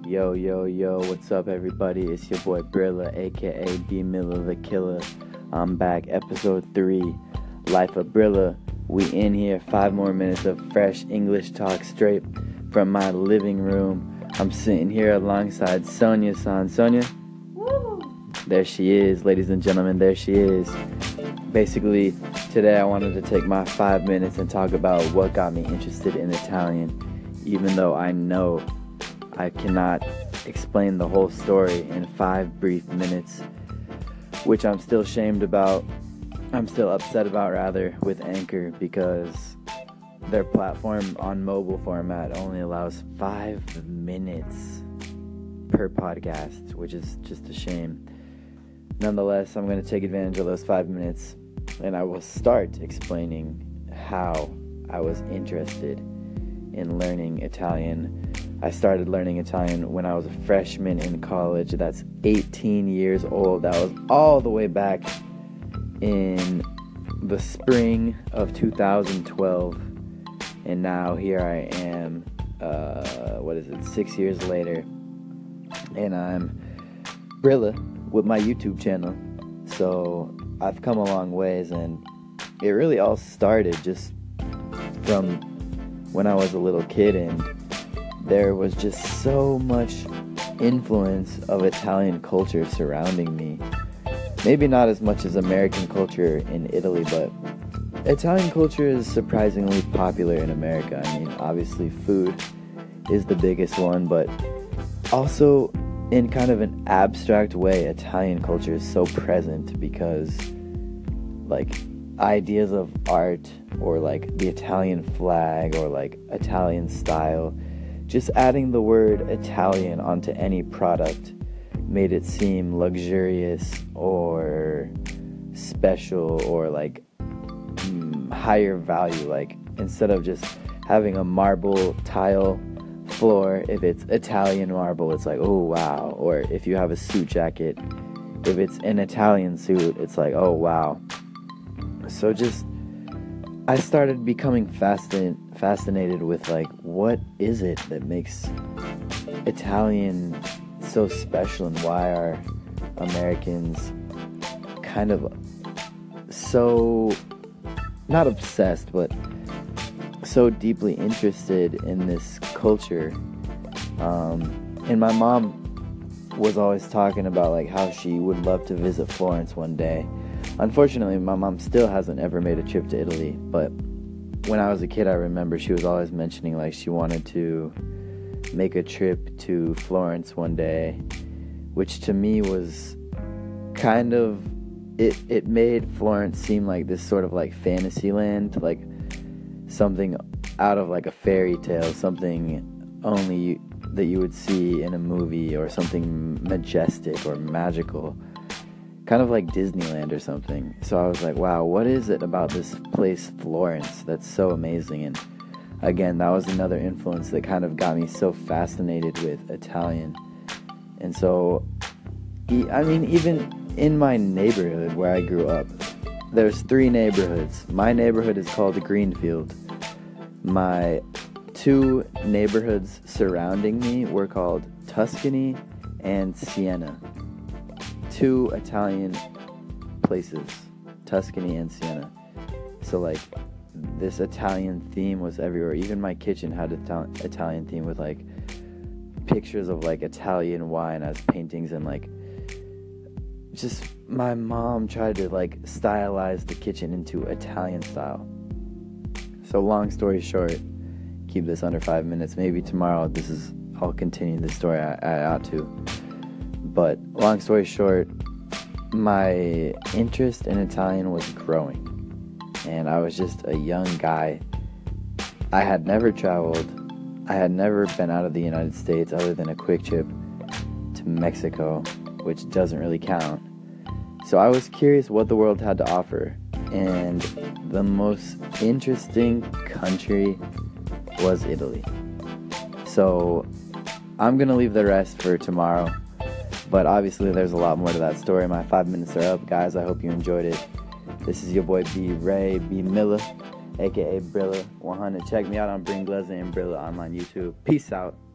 Yo, yo, yo, what's up, everybody? It's your boy Brilla, aka B Miller the Killer. I'm back, episode 3, Life of Brilla. We in here, 5 more minutes of fresh English talk straight from my living room. I'm sitting here alongside Sonia-san. Sonia? Woo! There she is, ladies and gentlemen, there she is. Basically, today I wanted to take my 5 minutes and talk about what got me interested in Italian, even though I know I cannot explain the whole story in 5 brief minutes, which I'm still upset about rather, with Anchor, because their platform on mobile format only allows 5 minutes per podcast, which is just a shame. Nonetheless, I'm going to take advantage of those 5 minutes, and I will start explaining how I was interested in learning Italian. I started learning Italian when I was a freshman in college. That's 18 years old. That was all the way back in the spring of 2012. And now here I am, 6 years later. And I'm Brilla with my YouTube channel. So I've come a long ways, and it really all started just from when I was a little kid, and there was just so much influence of Italian culture surrounding me. Maybe not as much as American culture in Italy, but Italian culture is surprisingly popular in America. I mean, obviously food is the biggest one, but also in kind of an abstract way, Italian culture is so present because, like, ideas of art, or like the Italian flag, or like Italian style, just adding the word Italian onto any product made it seem luxurious or special, or like higher value. Like, instead of just having a marble tile floor, if it's Italian marble, it's like, oh wow. Or if you have a suit jacket, if it's an Italian suit, it's like, oh wow. So just, I started becoming fascinated with, like, what is it that makes Italian so special, and why are Americans kind of so, not obsessed, but so deeply interested in this culture. And my mom was always talking about, like, how she would love to visit Florence one day. Unfortunately, my mom still hasn't ever made a trip to Italy, but when I was a kid, I remember she was always mentioning, like, she wanted to make a trip to Florence one day, which to me was kind of, it made Florence seem like this sort of, like, fantasy land, like something out of, like, a fairy tale, something only that you would see in a movie, or something majestic or magical, kind of like Disneyland or something. So I was like, wow, what is it about this place, Florence, that's so amazing? And again, that was another influence that kind of got me so fascinated with Italian. And so, I mean, even in my neighborhood where I grew up, there's 3 neighborhoods. My neighborhood is called Greenfield. My 2 neighborhoods surrounding me were called Tuscany and Siena. 2 Italian places, Tuscany and Siena. So, like, this Italian theme was everywhere. Even my kitchen had an Italian theme, with, like, pictures of, like, Italian wine as paintings, and, like, just my mom tried to, like, stylize the kitchen into Italian style. So long story short, keep this under 5 minutes. Maybe tomorrow I'll continue this story. I ought to. But long story short, my interest in Italian was growing, and I was just a young guy. I had never traveled. I had never been out of the United States other than a quick trip to Mexico, which doesn't really count. So I was curious what the world had to offer, and the most interesting country was Italy. So I'm gonna leave the rest for tomorrow. But obviously there's a lot more to that story. My 5 minutes are up, guys. I hope you enjoyed it. This is your boy B Miller, aka Brilla 100. Check me out on Bring Glazzy and Brilla on YouTube. Peace out.